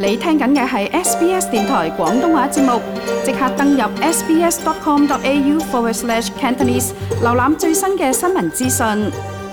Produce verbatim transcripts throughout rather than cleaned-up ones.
你聽緊嘅係 S B S 電台廣東話節目，即刻登入 sbs.com.au forward slash Cantonese， 瀏覽最新嘅新聞資訊。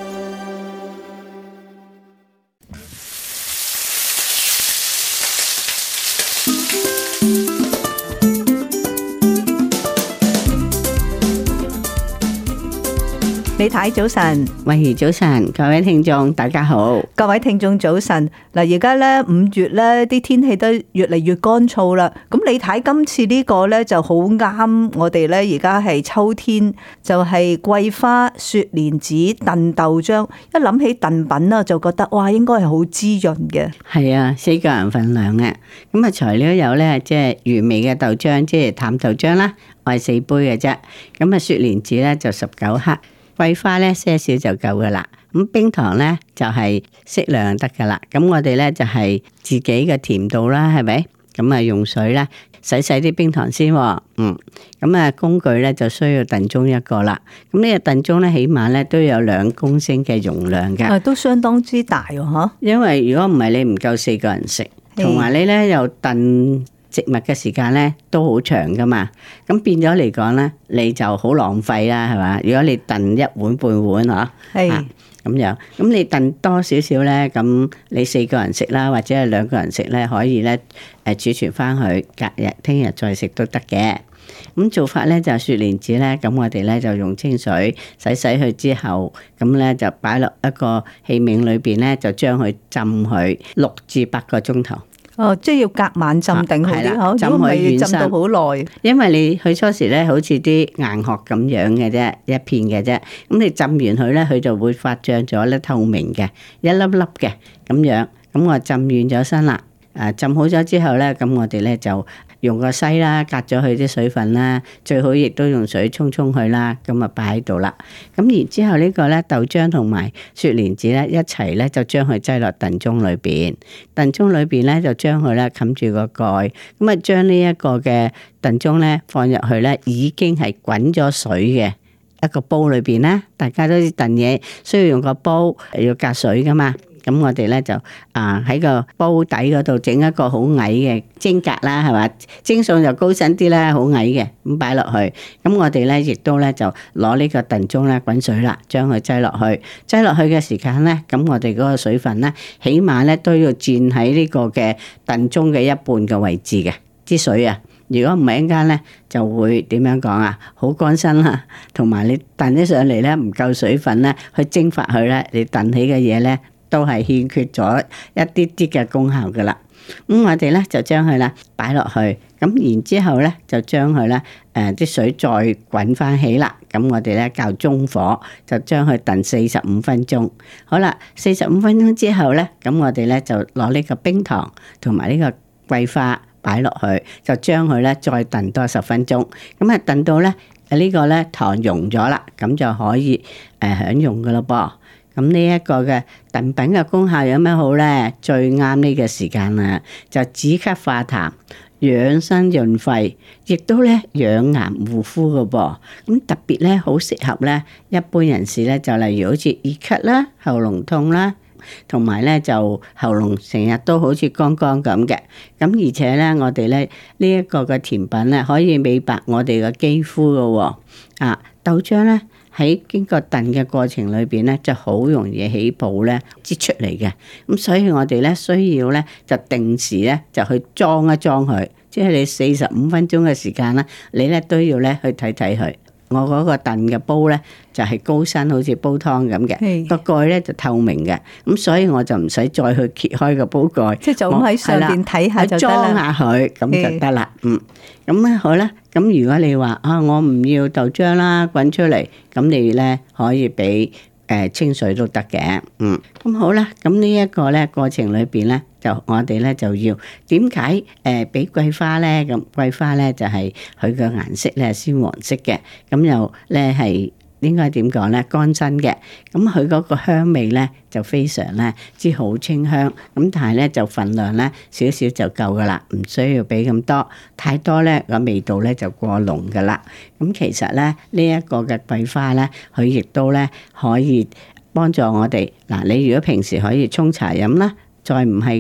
李太早晨， 慧怡早晨，各位聽眾大家好， 各位聽眾早晨。嗱，而家咧五月咧啲天氣都越嚟越乾燥啦。咁李太今次呢個咧就好啱我哋咧，而家係秋天，就係桂花、雪蓮子、燉豆漿。一諗起燉品啊，就覺得哇，應該係好滋潤嘅。 係啊，四個人份量嘅。咁啊，材料有咧，即係原味嘅豆漿，即係淡豆漿啦，我係四杯嘅啫。咁啊，雪蓮子咧就十九克。桂花咧些少就夠噶啦，咁冰糖咧就係適量得噶啦。咁我哋咧就係自己嘅甜度啦，係咪？咁啊用水咧洗洗啲冰糖先，嗯。咁啊工具咧就需要燉盅一個啦。咁呢個燉盅咧起碼咧都有兩公升嘅容量嘅， 啊都相當之大喎，嗬。 因為如果唔係你唔夠四個人食，同埋你咧又燉植物嘅時間咧都好長噶嘛，咁變咗嚟講咧，你就好浪費啦，係嘛？如果你燉一碗半碗嗬，係咁樣，咁你燉多少少咧，咁你四個人食啦，或者係兩個人食咧，可以咧誒儲存翻去，隔日聽日再食都得嘅。咁做法咧就係雪蓮子咧，咁我哋咧就用清水洗洗佢之後，咁咧就擺落一個器皿裏邊咧，就將佢浸佢六至八個鐘頭。 哦，即係要隔晚浸定好啲，嗬？ 如果唔係要浸到好耐， 因為你去初時咧，好似啲硬殼咁樣嘅啫，一片嘅啫。咁你浸完佢咧，佢就會發脹咗咧，透明嘅，一粒粒嘅咁樣。咁我浸軟咗身啦，誒浸好咗之後咧，咁我哋咧就用個篩啦，隔咗佢啲水分啦，最好亦都用水沖沖佢啦，咁啊擺喺度啦。咁然之後呢個咧豆漿同埋雪蓮子咧一齊咧就將佢擠落燉盅裏邊，燉盅裏邊咧就將佢咧冚住個蓋，咁啊將呢一個嘅燉盅咧放入去咧已經係滾咗水嘅一個煲裏邊啦。大家都知燉嘢需要用個煲，要隔水噶嘛。咁我哋咧就啊喺個煲底嗰度整一個好矮嘅蒸格啦，係嘛？蒸餸就高身啲啦，好矮嘅咁擺落去。咁我哋咧亦都咧就攞呢個燉盅咧滾水啦，將佢擠落去。擠落去嘅時間咧，咁我哋嗰個水分咧，起碼咧都要佔喺呢個嘅燉盅嘅一半嘅位置嘅啲水啊。如果唔係一陣間咧，就會點樣講啊？好乾身啦，同埋你燉起上嚟咧唔夠水分咧，去蒸發佢咧，你燉起嘅嘢咧，都係欠缺咗一啲啲嘅功效噶啦。咁我哋咧就將佢啦擺落去，咁然之後咧就將佢咧誒啲水再滾翻起啦。咁我哋咧較中火就將佢燉四十五分鐘。好啦，四十五分鐘之後咧，咁我哋咧就攞呢個冰糖同埋呢個桂花擺落去，就將佢咧再燉多十分鐘。咁啊燉到咧呢個咧糖溶咗啦，咁就可以誒享用噶咯噃。咁呢一個嘅燉品嘅功效有咩好咧？最啱呢個時間啦，就止咳化痰、養生潤肺，亦都咧養顏護膚嘅噃。咁特別咧好適合咧一般人士咧，就例如好似熱咳啦、喉嚨痛啦，同埋咧就喉嚨成日都好似乾乾咁嘅。咁而且咧，我哋咧呢一個嘅甜品咧，可以美白我哋嘅肌膚嘅喎。啊，豆漿咧。喺經過燉嘅過程裏邊咧，就好容易起泡咧擠出嚟嘅。咁所以我哋咧需要咧就定時咧就去裝一裝佢，即係你四十五分鐘嘅時間啦，你咧都要咧去睇睇佢。我嗰個燉嘅煲咧就係高身，好似煲湯咁嘅，個蓋咧就透明嘅，咁所以我就唔使再去揭開個煲蓋， 即係就咁喺上邊睇下就得啦， 裝下佢咁就得啦。嗯，咁咧好啦，咁如果你話啊，我唔要豆漿啦，滾出嚟，咁你咧可以俾誒清水都得嘅。嗯，咁好啦，咁呢一個咧過程裏邊咧。就我哋咧就要點解誒俾桂花咧？咁桂花咧就係佢嘅顏色咧鮮黃色嘅，咁又咧係應該點講咧？乾身嘅，咁佢嗰個香味咧就非常咧之好清香，咁但係咧就份量咧少少就夠噶啦，唔需要俾咁多，太多咧個味道咧就過濃噶啦。咁其實咧呢一個嘅桂花咧，佢亦都咧可以幫助我哋嗱，你如果平時可以沖茶飲啦。再唔係嘅咧，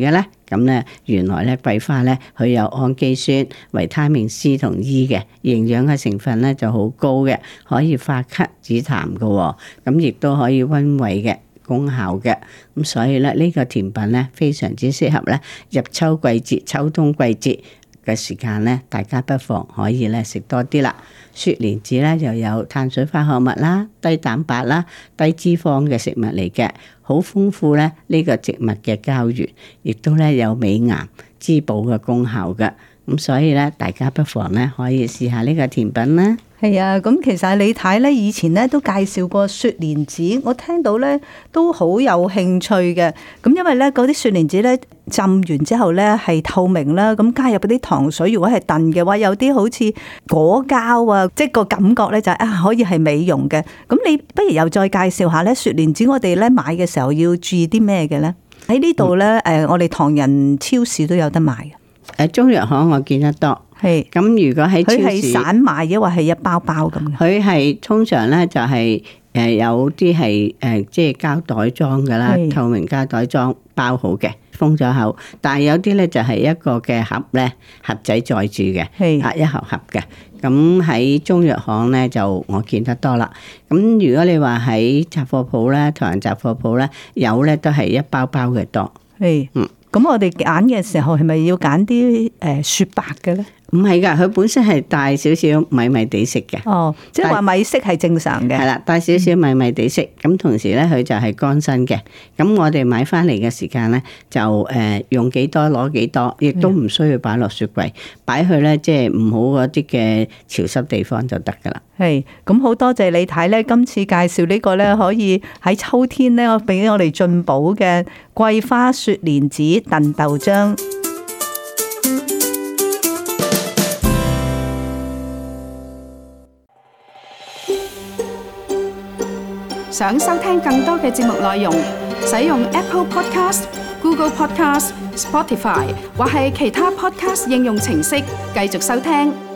咁咧原來咧桂花咧佢有氨基酸、維他命 C 同 E 嘅營養嘅成分咧就好高嘅，可以化咳止痰嘅，咁亦都可以溫胃嘅功效嘅。咁所以咧呢個甜品咧非常之適合咧入秋季節、秋冬季節嘅時間咧，大家不妨可以咧食多啲啦。雪蓮子咧又有碳水化合物啦、低蛋白啦、低脂肪嘅食物嚟嘅，好豐富咧呢個植物嘅膠原，亦都咧有美顏滋補嘅功效嘅。咁所以咧，大家不妨咧可以試下呢個甜品啦。 係啊，咁其實李太咧以前咧都介紹過雪蓮子，我聽到咧都好有興趣嘅。咁因為咧嗰啲雪蓮子咧浸完之後咧係透明啦，咁加入嗰啲糖水，如果係燉嘅話，有啲好似果膠啊，即係個感覺咧就係啊可以係美容嘅。咁你不如又再介紹下咧雪蓮子，我哋咧買嘅時候要注意啲咩嘅咧？喺呢度咧誒，我哋唐人超市都有得賣嘅。 誒，中藥行我見得多。係咁，如果喺超市，佢係散賣，抑或係一包包咁嘅？佢係通常咧就係誒有啲係誒即係膠袋裝噶啦，透明膠袋裝包好嘅，封咗口。但係有啲咧就係一個嘅盒咧，盒仔載住嘅，啊一盒盒嘅。咁喺中藥行咧就我見得多啦。咁如果你話喺雜貨鋪咧，唐人雜貨鋪咧有咧都係一包包嘅多。係，嗯。 咁我哋揀嘅時候係咪要揀啲誒雪白嘅咧？ 唔係㗎，佢本身係帶少少米米地色嘅。 哦，即係話米色係正常嘅。 係啦，帶少少米米地色，咁、嗯、同時咧佢就係乾身嘅。咁我哋買翻嚟嘅時間咧，就誒用幾多攞幾多，亦都唔需要擺落雪櫃，擺去咧即係唔好嗰啲嘅潮濕地方就得㗎啦。 係，咁好多謝你睇咧，今次介紹呢個咧可以喺秋天咧，我俾我哋進補嘅桂花雪蓮子燉豆漿。 想收聽更多嘅節目內容，使用 Apple Podcast、Google Podcast、Spotify 或係其他 Podcast 應用程式繼續收聽。